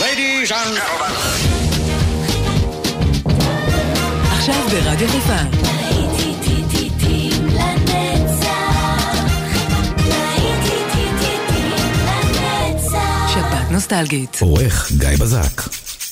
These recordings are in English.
Ladies and gentlemen. עכשיו ברדיו חיפה. שבת נוסטלגית. עורך גיא בזק.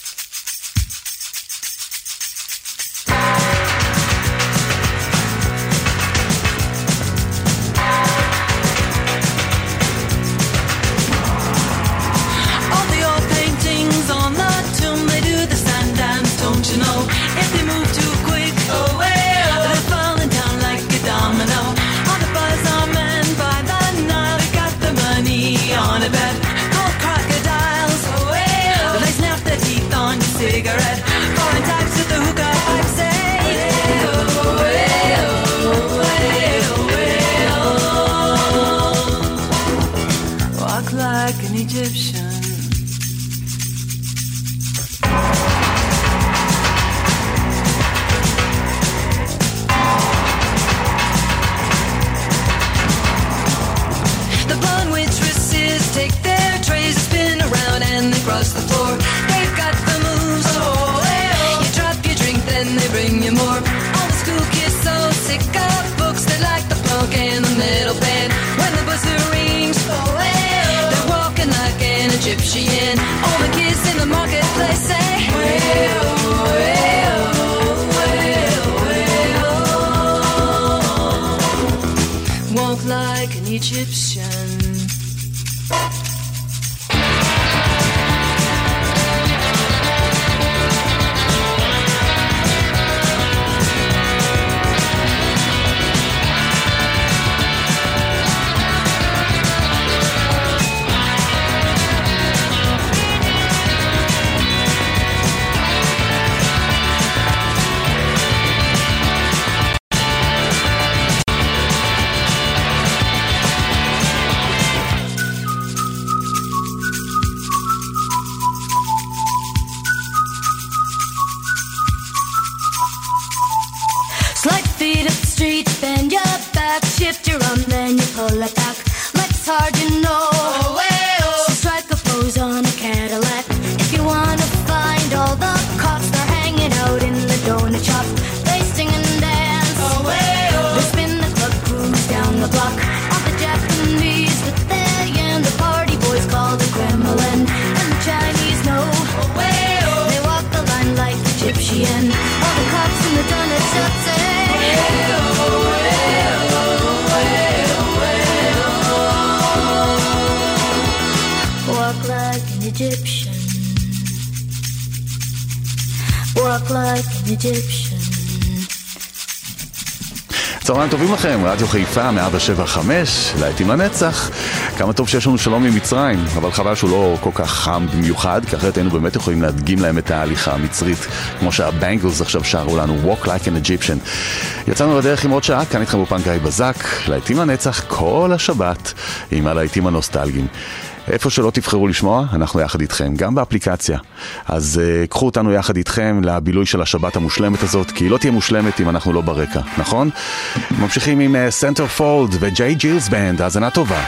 צהריים טובים לכם, רדיו חיפה 107.5, להיטים לנצח. כמה טוב שיש לנו שלום ממצרים, אבל חבל שהוא לא כל כך חם במיוחד, כי אחרת היינו באמת יכולים להדגים להם את ההליכה המצרית, כמו שהבנגלס עכשיו שרו לנו, Walk Like an Egyptian. יצאנו לדרך עם עוד שעה, כאן איתכם באופן גיא בזק, להיטים לנצח כל השבת, עם הלהיטים הנוסטלגיים. איפה שלא תבחרו לשמוע, אנחנו יחד איתכם, גם באפליקציה. אז קחו אותנו יחד איתכם לבילוי של השבת המושלמת הזאת, כי היא לא תהיה מושלמת אם אנחנו לא ברקע, נכון? ממשיכים עם Centerfold וג'יי ג'ילס בנד, האזנה טובה.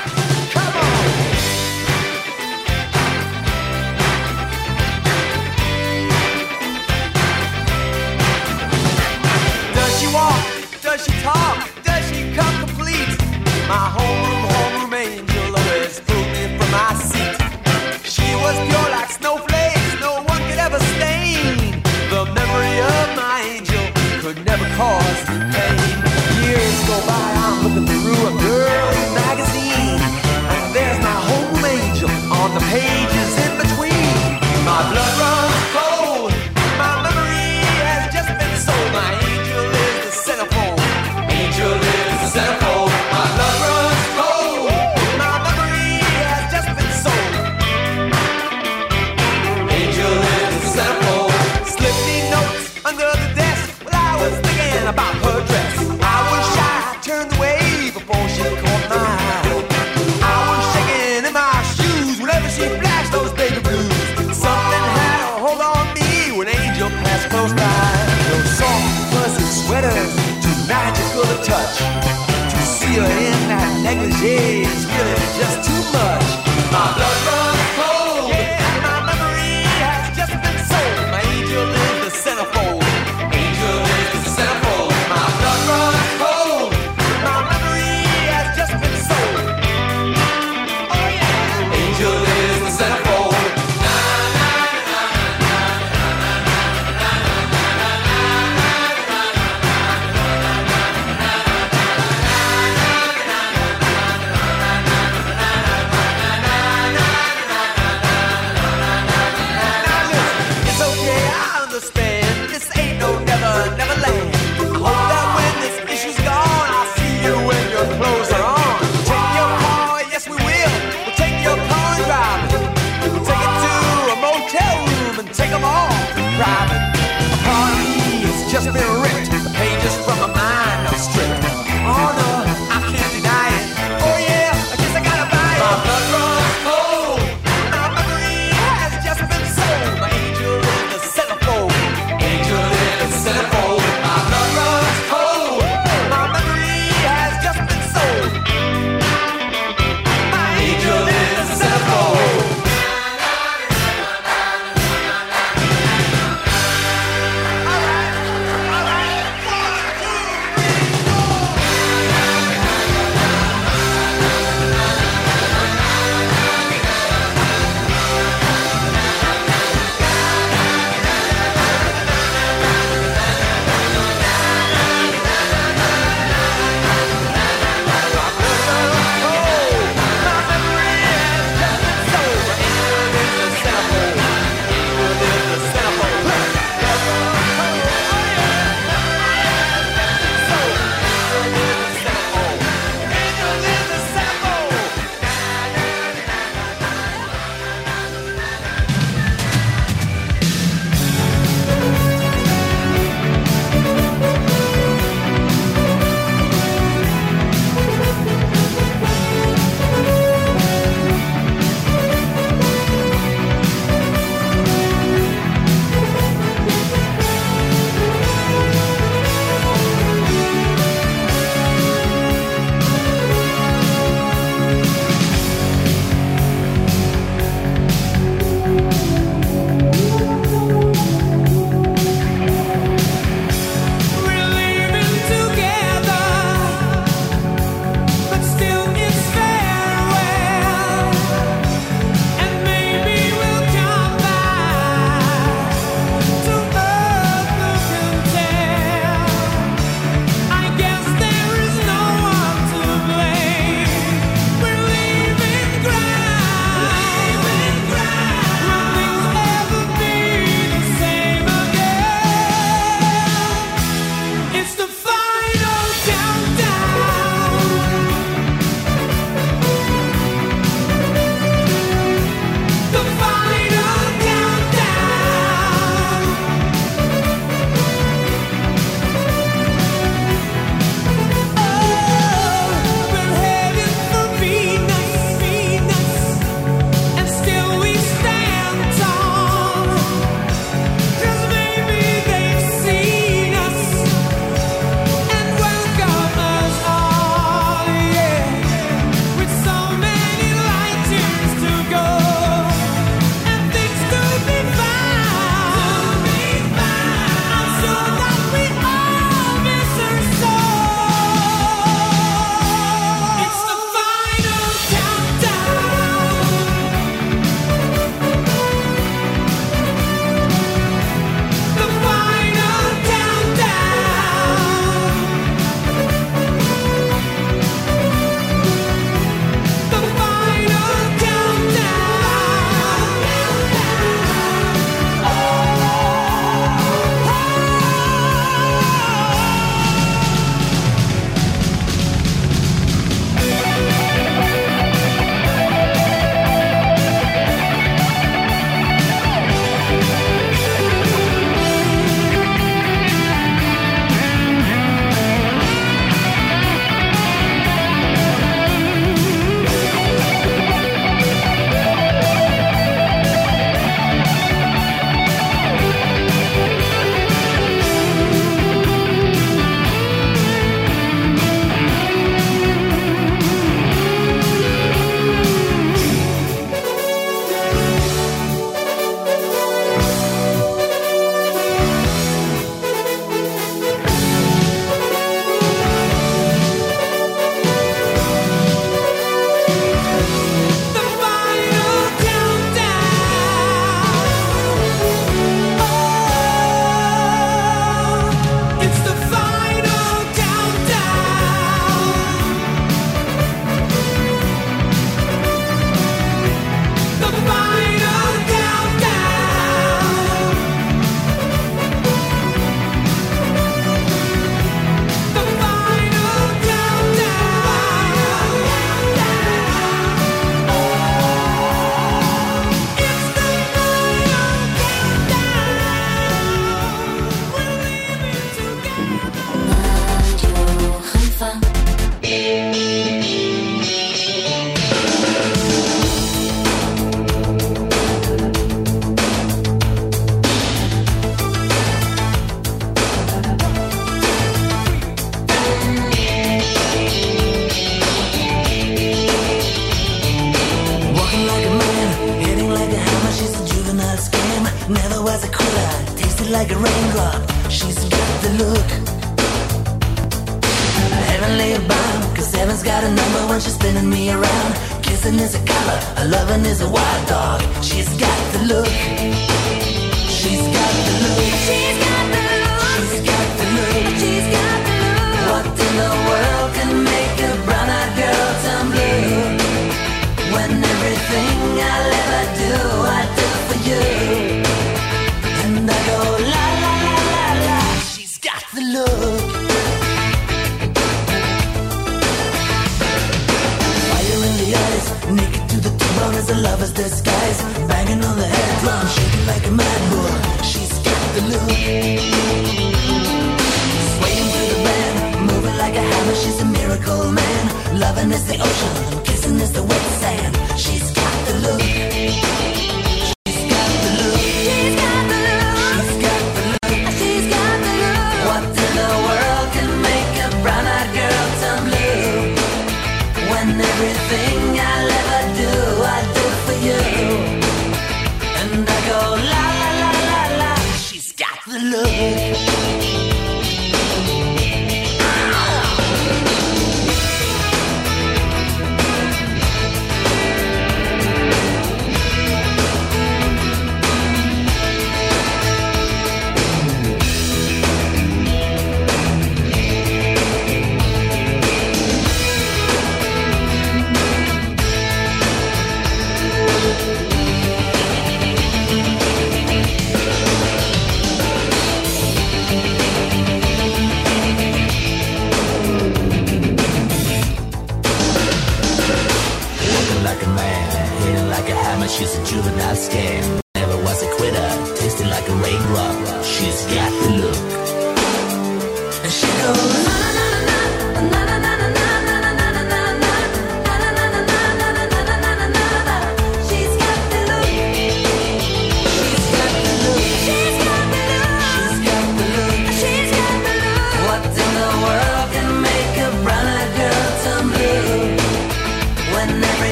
Years go by, I'm looking through a girl's magazine. just been ripped. The pages from my mind are stripped. Oh no, I can't deny it. Oh yeah, I guess I gotta buy it. My blood runs cold. My memory has just been sold. My angel in the centerfold. Angel in the centerfold. My blood runs cold. My memory has just been sold. My angel in the centerfold. All right. never was a quitter, tasted like a raindrop. She's got the look, heavenly bound, 'cause heaven's got a number when she's spinning me around. Kissing is a color, a loving is a wild dog. She's got the look, she's got the look, she's got the look, she's got the look, she's got the look. What in the world can make a brown-eyed girl turn blue? When everything I'll ever do, I do for you. And I go la la la la la. She's got the look. Fire in the eyes, naked to the bone as a lover's disguise. Banging on the head drum, shaking like a mad bull. She's got the look. Swaying through the band, moving like a hammer. She's a miracle man. Loving is the ocean, kissing is the wet sand. She's got the look. She's got the look. She's got the look. She's got the look. She's got the look. What in the world can make a brown-eyed girl turn blue? When everything I'll ever do, I do for you. And I go la la la la la. She's got the look.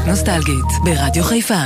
נוסטלגית ברדיו חיפה.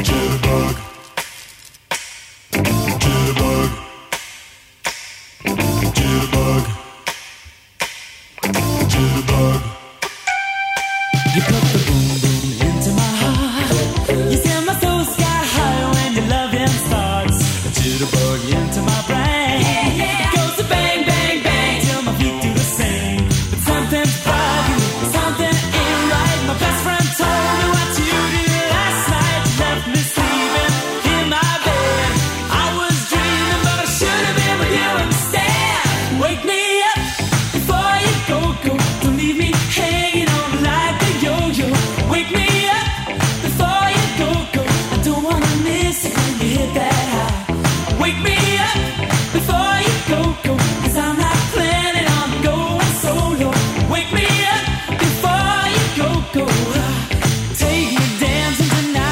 You put the boom boom into my heart. You send my soul sky high when your loving starts. A jitterbug into my brain. It goes to bang bang bang till my feet do the same. But something's bugging, something ain't right. My best friend told me what you did last night. You left me sleeping in my bed. I was dreaming, but I should have been with you instead. Wake me up before you go. Don't leave me hanging on like a yo-yo. Wake me up before you go. I don't wanna miss it when you hit that high. Wake me up before you go. 'Cause I'm not planning on going solo. Wake me up before you go. Take me dancing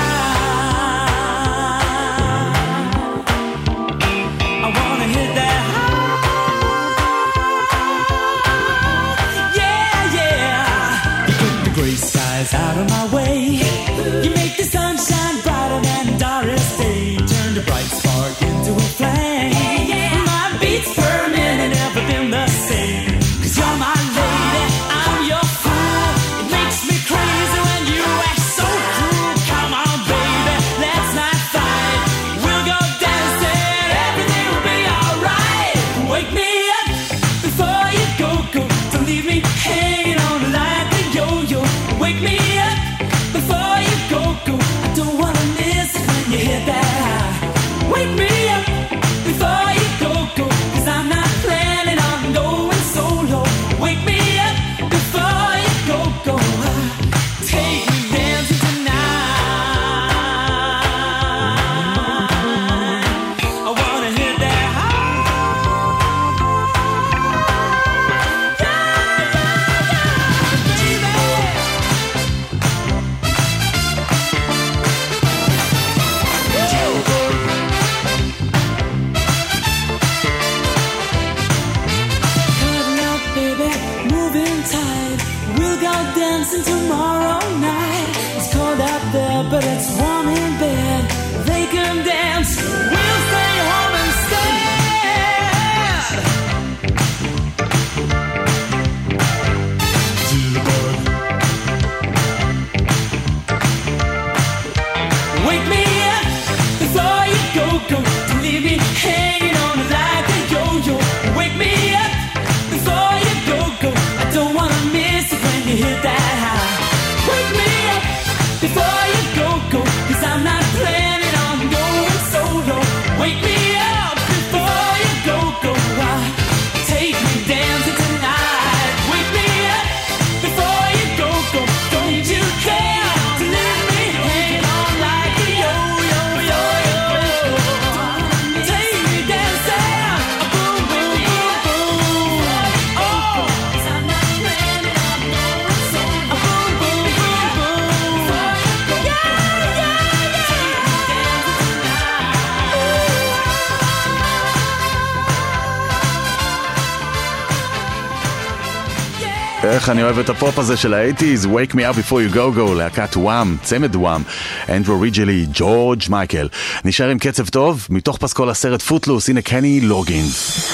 tonight. I wanna hit that high. Yeah. You put the gray skies out of my way. You make the sunshine brighter than Doris Day. Turn the bright spark into a flame. My beats per minute never been the same. 'Cause you're my lady, I'm your fool. It makes me crazy when you act so cruel. Come on, baby, let's not fight. We'll go dancing, everything will be alright. Wake me up before you go. Don't leave me hanging on like a yo-yo. Wake me up before you go. I don't wanna miss it when you hit that high. Wake me up before you go. 'Cause I'm not planning on going solo. Wake me up before you go. Take me dancing tonight. I wanna hit that high. Baby. Cutting up, baby, moving tight. We'll go dancing tomorrow night. It's cold out there, but it's warm in bed. They can dance, we'll stay home instead. Wake me up before you go. Don't leave me hanging on like a yo-yo. Wake me up before you go. I don't wanna miss it when you hit that high. Wake me up before you go. 'Cause I'm not planning on going solo. Wake me up before you go. Take me dancing tonight. Wake me up before you go. Don't you care to leave me hanging on like a yo-yo. Take me dancing, boom, boom, boom, boom. Oh, 'cause I'm not planning on going solo. Boom, boom, boom, boom. Yeah. איך אני אוהב את הפופ הזה של ה-80s, Wake Me Up Before You Go Go, להקת וואם, צמד וואם, אנדרו ריג'לי, ג'ורג' מייקל. נשאר עם קצב טוב, מתוך פסקול הסרט פוטלוס, הנה קני לוגינס.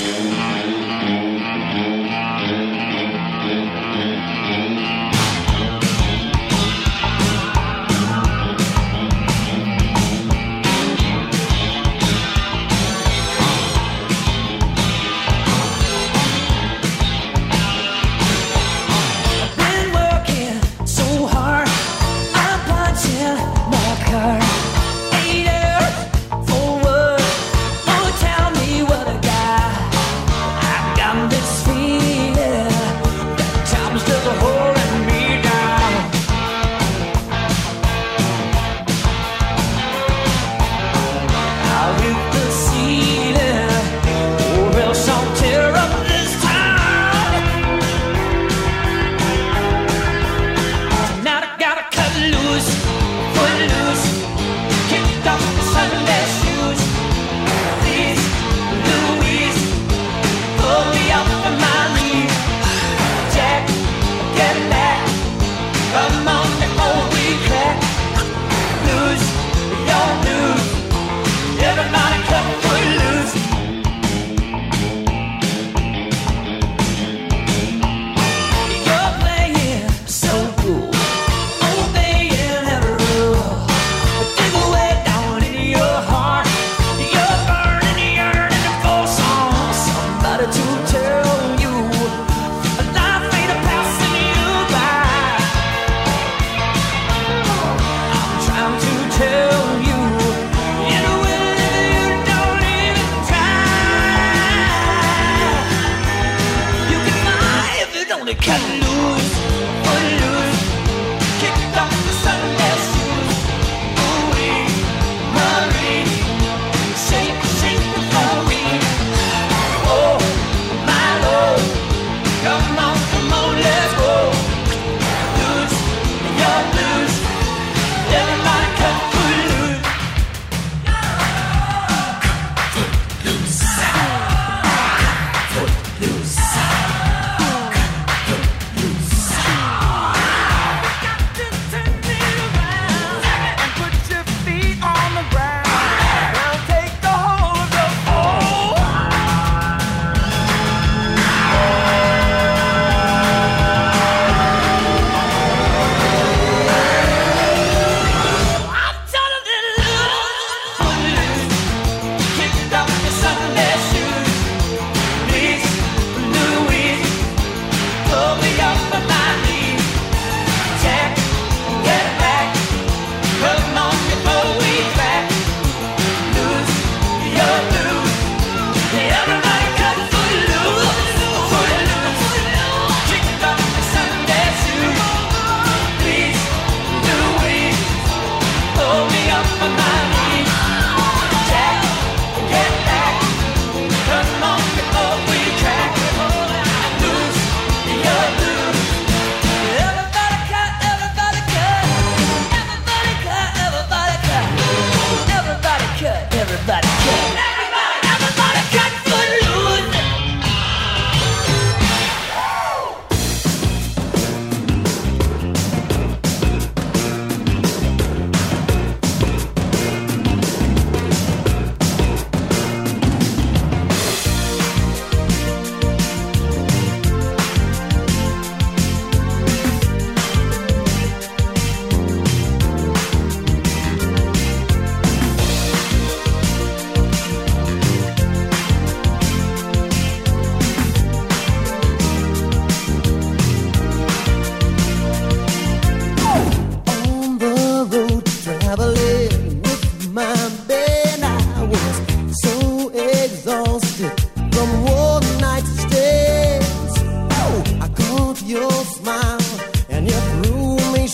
Been working so hard, I'm punching my card. 8 hours for work. Oh, tell me what I got. I got this feeling that time's just holding me down. I'll hit the ceiling, or else I'll tear up this town. Tonight I gotta cut loose, put loose, kick off the Sunday shoes. Please, Louise, pull me up on my knees. Jack, get back, come on before we crack.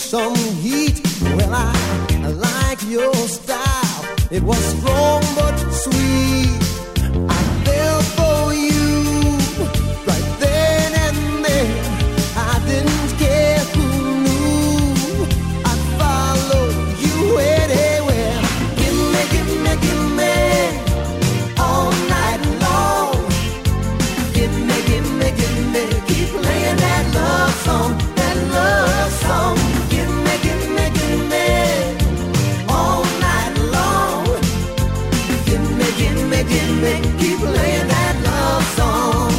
some heat. Well, I like your style. It was strong but sweet. I fell for you right then and there. I didn't care who knew. I'd follow you anywhere. Give me all night long. Give me, keep playing that love song, that love song. Give me all night long. Give me, keep playing that love song.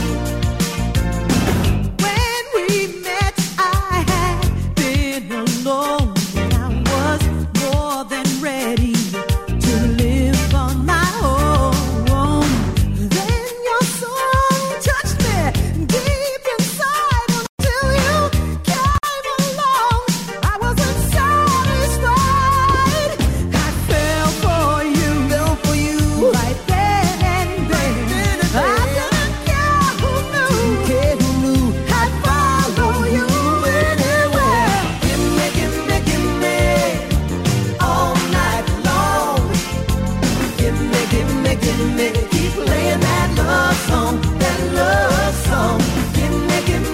When we met, I had been alone, and I was more than ready to live on my own. Then your song touched me deep inside until you came along. I wasn't satisfied. I fell for you right then and there. I didn't care who knew. I'd follow you anywhere. Give me all night long. Give me, keep playing that love song, that love song. Give me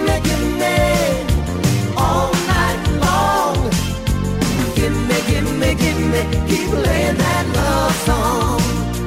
all night long. Give me, keep playing that love song.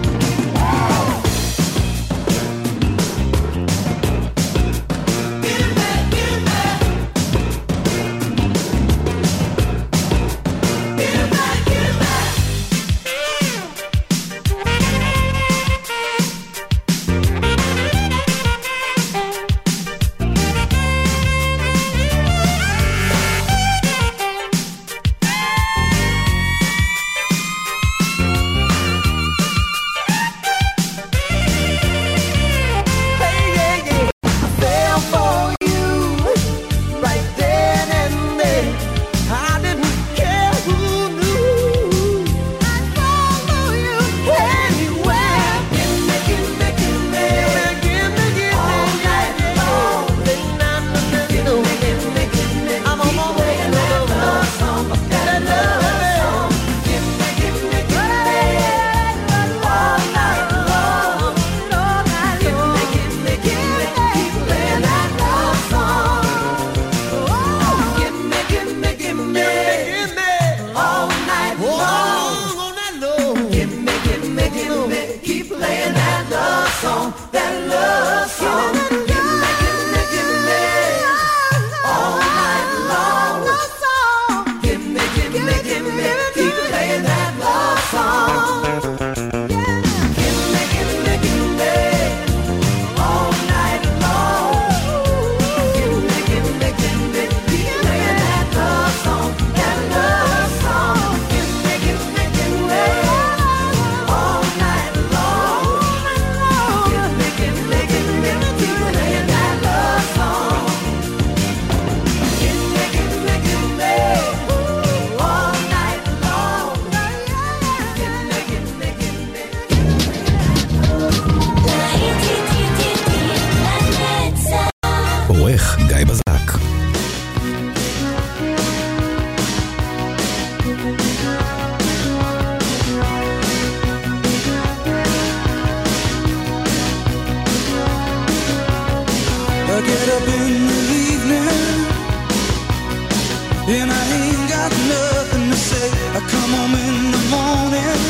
And I ain't got nothing to say. I come home in the morning,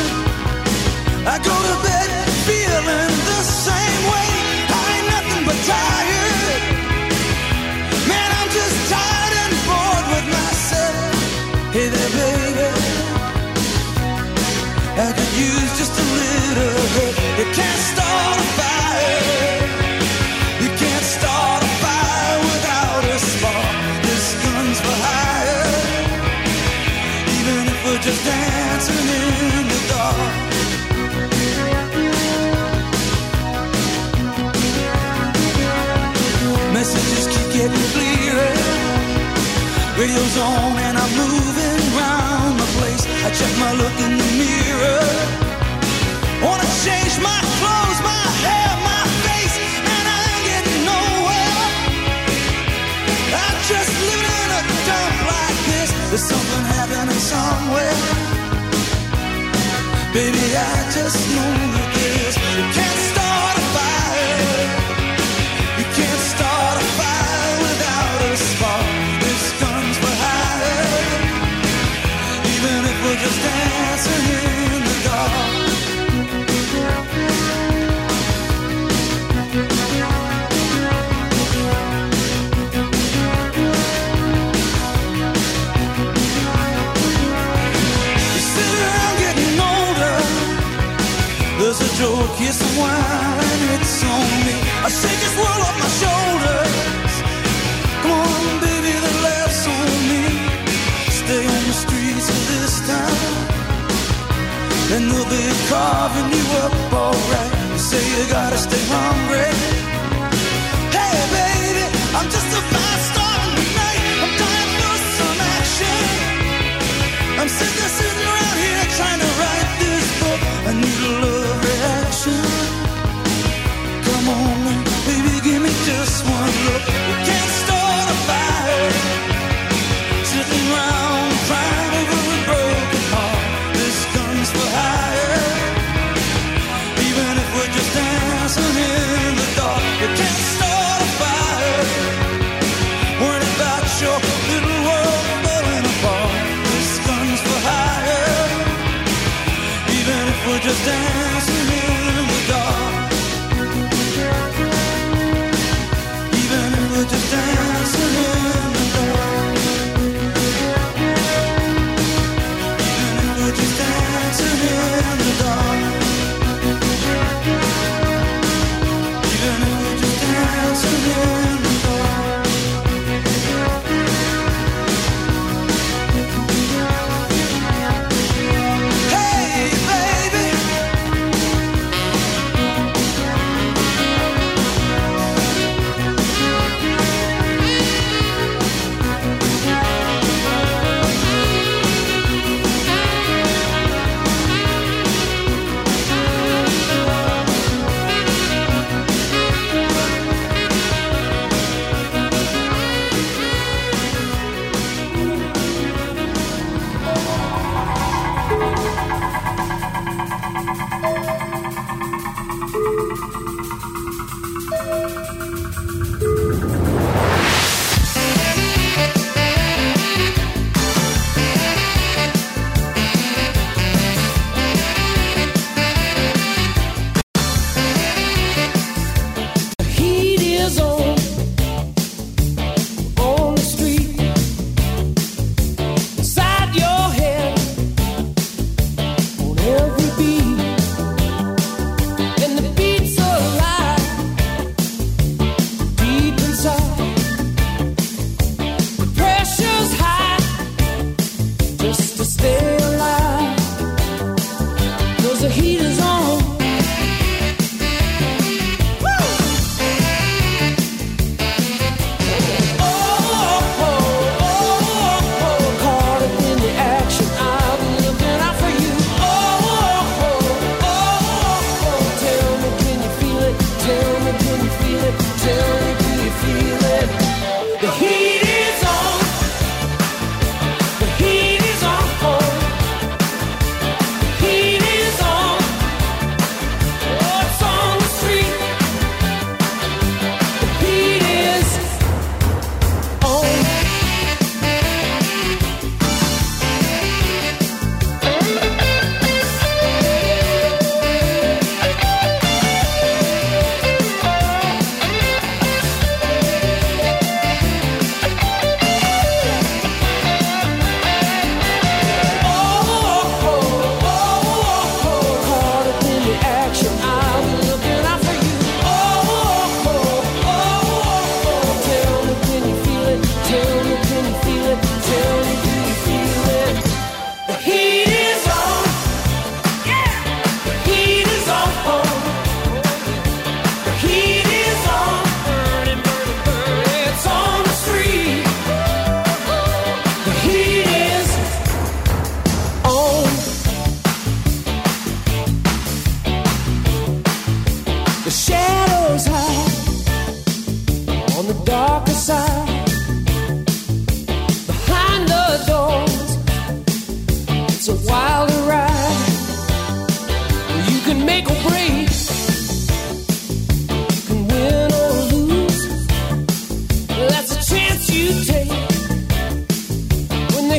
I go to bed feeling the same way. I ain't nothing but tired. Man, I'm just tired and bored with myself. Hey there, baby, I could use just a little help. You can't start a fire. You can't start a fire without a spark. This gun's for hire, even if we're just dancing in the dark. Messages keep getting clearer. Radio's on and I'm moving round the place. I check my look in the mirror. Wanna change my clothes, my hair, my face, and I ain't getting nowhere. I'm just living in a dump like this. There's something happening somewhere. Baby, I just know that this. You can't start a fire. You can't start a fire without a spark. This gun's for hire. Even if we're just dancing in the dark. There's a joke, here's some wine, and it's on me. I shake this world off my shoulders. Come on, baby, the laughs on me. Stay on the streets of this town, and they'll be carving you up alright. You say you gotta stay hungry. Hey, baby, I'm just a fast star in the night. I'm dying for some action. I'm sitting around here trying to write this book. I need a love reaction. Come on, baby, give me just one look. You can't start a fire sitting around crying over a broken heart. This gun's for hire. Even if we're just dancing in the dark, you can't start a fire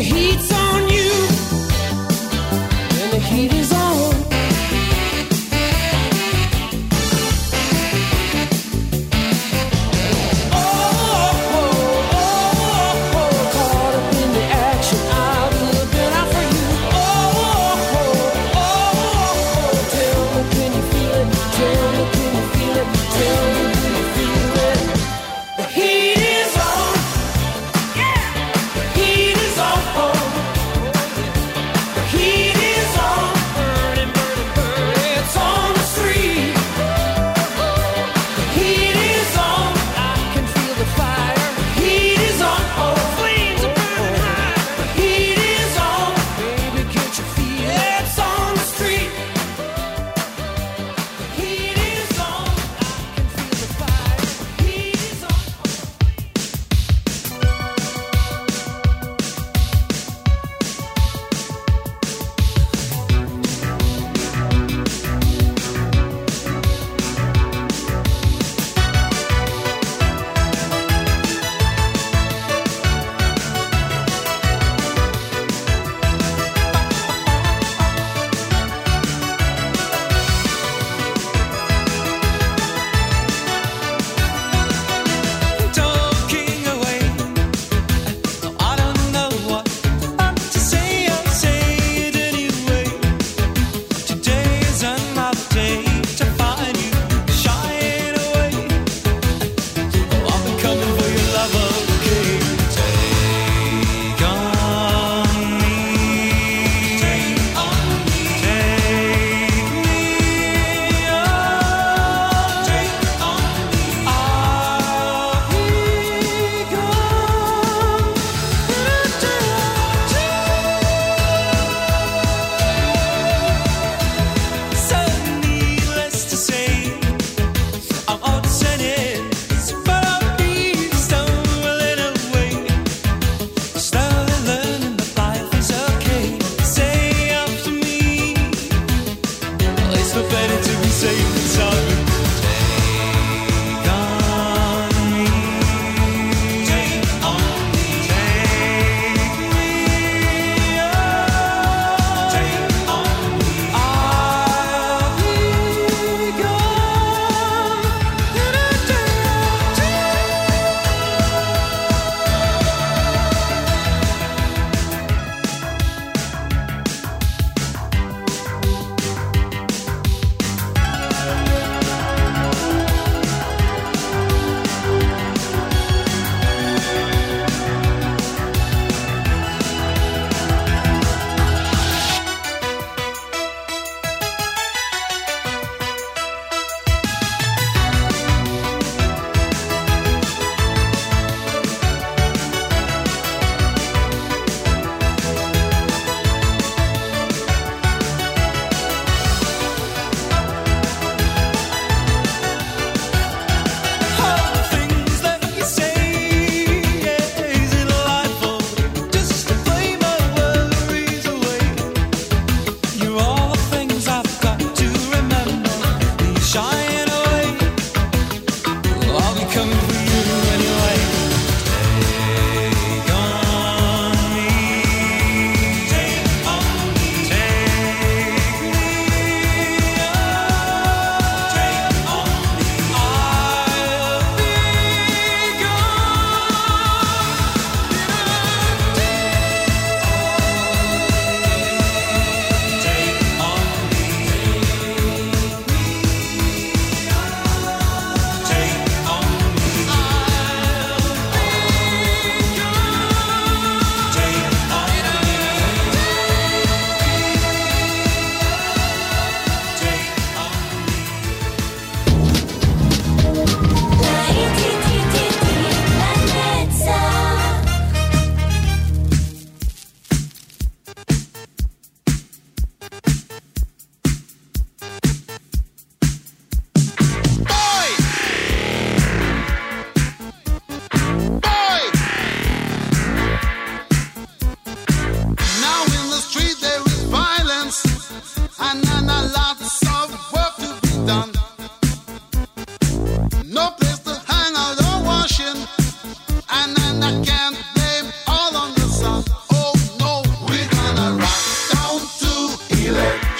the heat's on you, when the heat is on. Heat is on, yeah. Heat is on.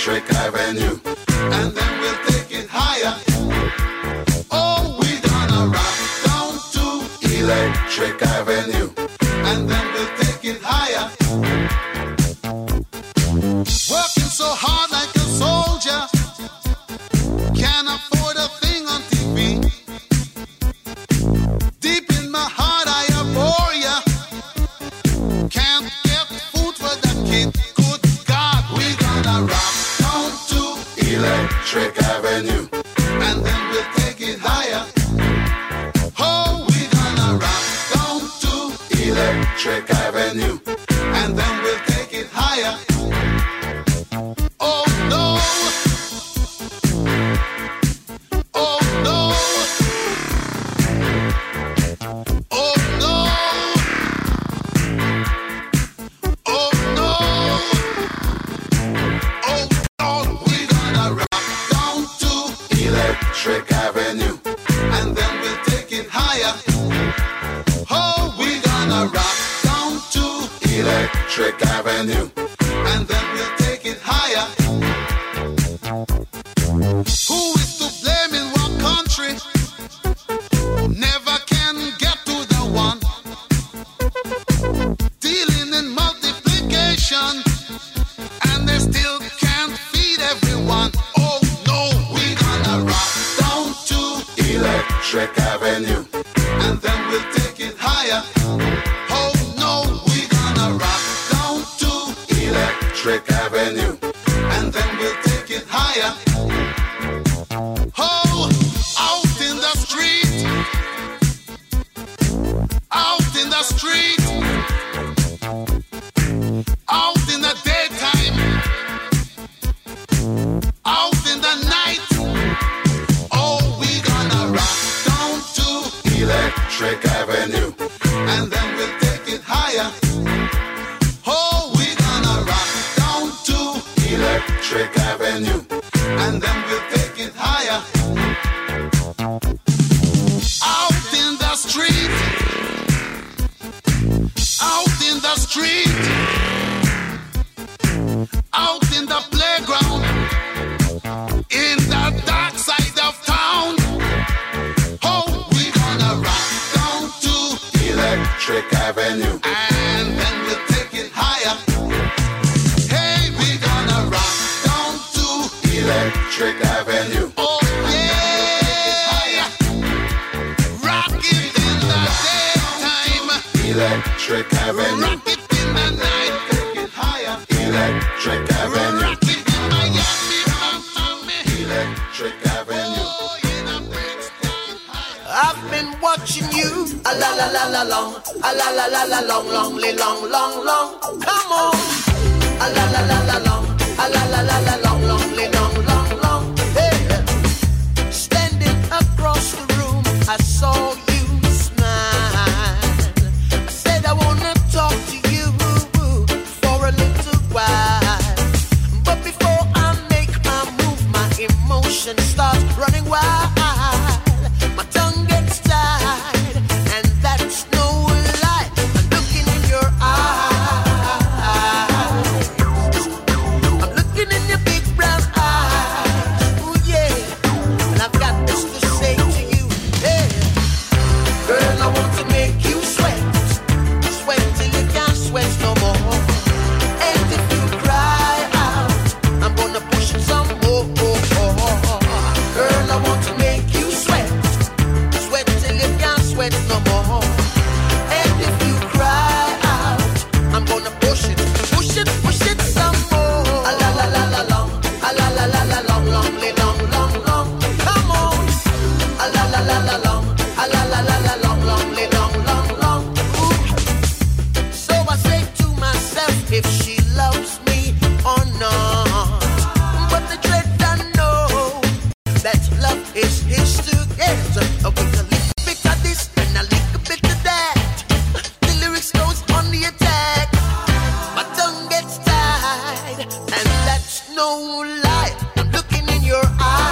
Electric Avenue, and then we'll take it higher. Oh, we're gonna rock down to Electric Avenue, and then we'll take it higher. Working so hard like a soldier, can't afford a thing on TV. Deep in my heart I abhor ya. Can't get food for the kid. Good God, we gonna rock down to Electric Avenue, and then we'll take it higher. Oh, we gonna rock down to Electric Avenue, and then we'll take it higher. Oh no. Oh no. Oh no. Oh no. Oh no. We're gonna rock down to Electric Avenue, and then we'll take it higher. Oh, we're gonna rock down to Electric Avenue, and then we'll take it higher. Who is to blame in what country? Never can get to the one. Dealing in multiplication, and they still can't feed everyone. Oh no, we're gonna rock down to Electric Avenue, and then we'll take it higher. Oh no, we're gonna rock down to Electric Avenue, and then we'll take it higher. Oh, out in the street, out in the street, out in the daytime, out in the night. Oh, we're gonna rock down to Electric Avenue, and then we'll take it higher. Oh, we're gonna rock down to Electric Avenue, and then we'll take it higher. Out in the street, out in the street, out in the playground, in the dark side of town. Oh, we're gonna rock down to Electric Avenue, and then we'll take it higher. Hey, we're gonna rock down to Electric Avenue. Oh yeah, rock it in the daytime, Electric Avenue. Rock it in the night, take it higher, Electric Avenue. Rock it in Miami, Electric Avenue. Oh, in a Brixton higher. I've been watching you, a la la la la long, a la la la la long, long, long, long, long. Come on, a la la la la long, a la la la la long, long, long, long, long. Hey, standing across the room, I saw you smile. I said I wanna talk to you for a little while, but before I make my move, my emotions start running wild. My tongue gets tied, and that's no lie. I'm looking in your eyes. I'm looking in your big brown eyes. Ooh yeah, and I've got this to say to you. Hey, girl, I want to make you sweat, sweat till you can't sweat no more. And if you cry out, I'm gonna push it some more. Girl, I want to make you sweat, sweat till you can't sweat no more. And if you cry out, I'm gonna push it some more. A la la la la long, a la la la la long, long, long, long, long. Come on, a la la la la long, a la la la la long, long, long, long, long. Ooh. So I say to myself, if she loves me or not, but the dread I know that love is his to get. With a little bit of this and a little bit of that, the lyrics goes on the attack. My tongue gets tied, and that's no lie. I'm looking in your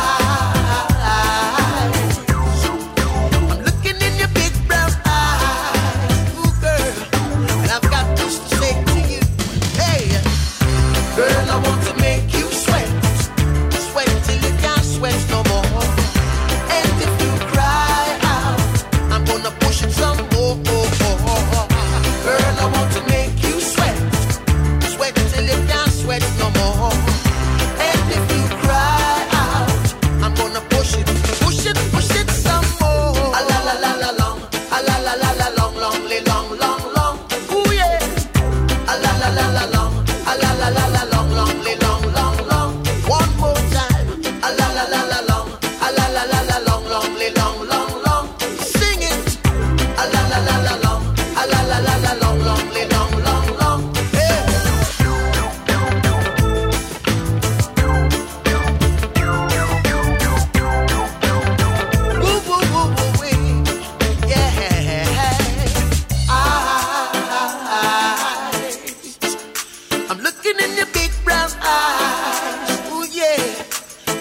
eyes. I'm looking in your big brown eyes. Ooh, girl, and I've got this to say to you. Hey, girl, I want to make you sweat,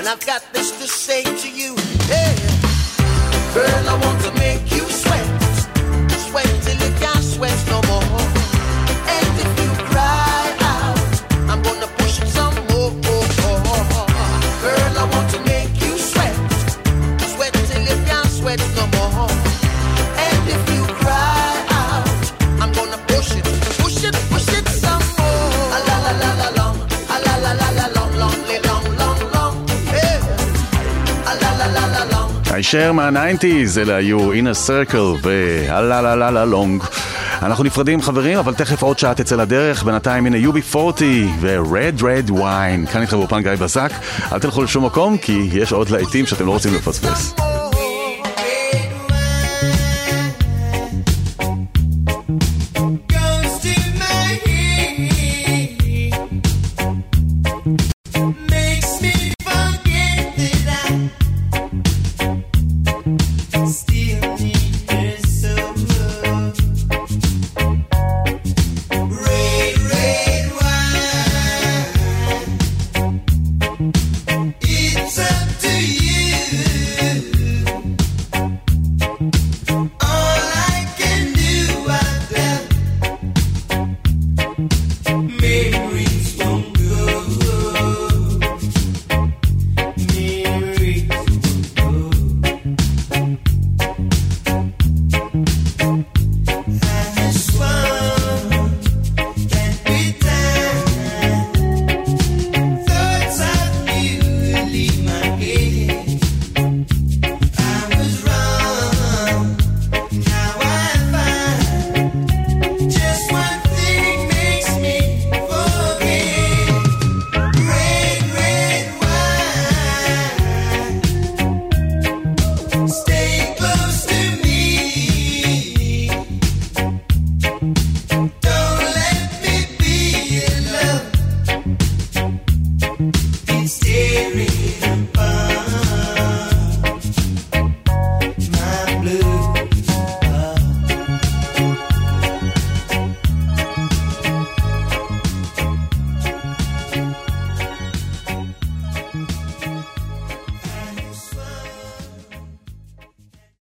I've got this to say to you. Hey, girl, I want to make you sweat, sweat till you can't sweat no more. And if you cry out, I'm gonna push it some more. Girl, I want to make you sweat, sweat till you can't sweat no more. And if you cry out, I'm gonna push it some more. A la la la la long, a la la la la long, long, long, long, hey. A la la la la long. הישר מה-90s, אלה היו In a Circle והלה לה לה לה לונג. אנחנו נפרדים חברים, אבל תכף עוד שעה תצא לדרך. בינתיים הנה UB40 ו-Red Red Wine. כאן איתכם באופן גיא בזק. אל תלכו לשום מקום, כי יש עוד להיטים שאתם לא רוצים לפספס.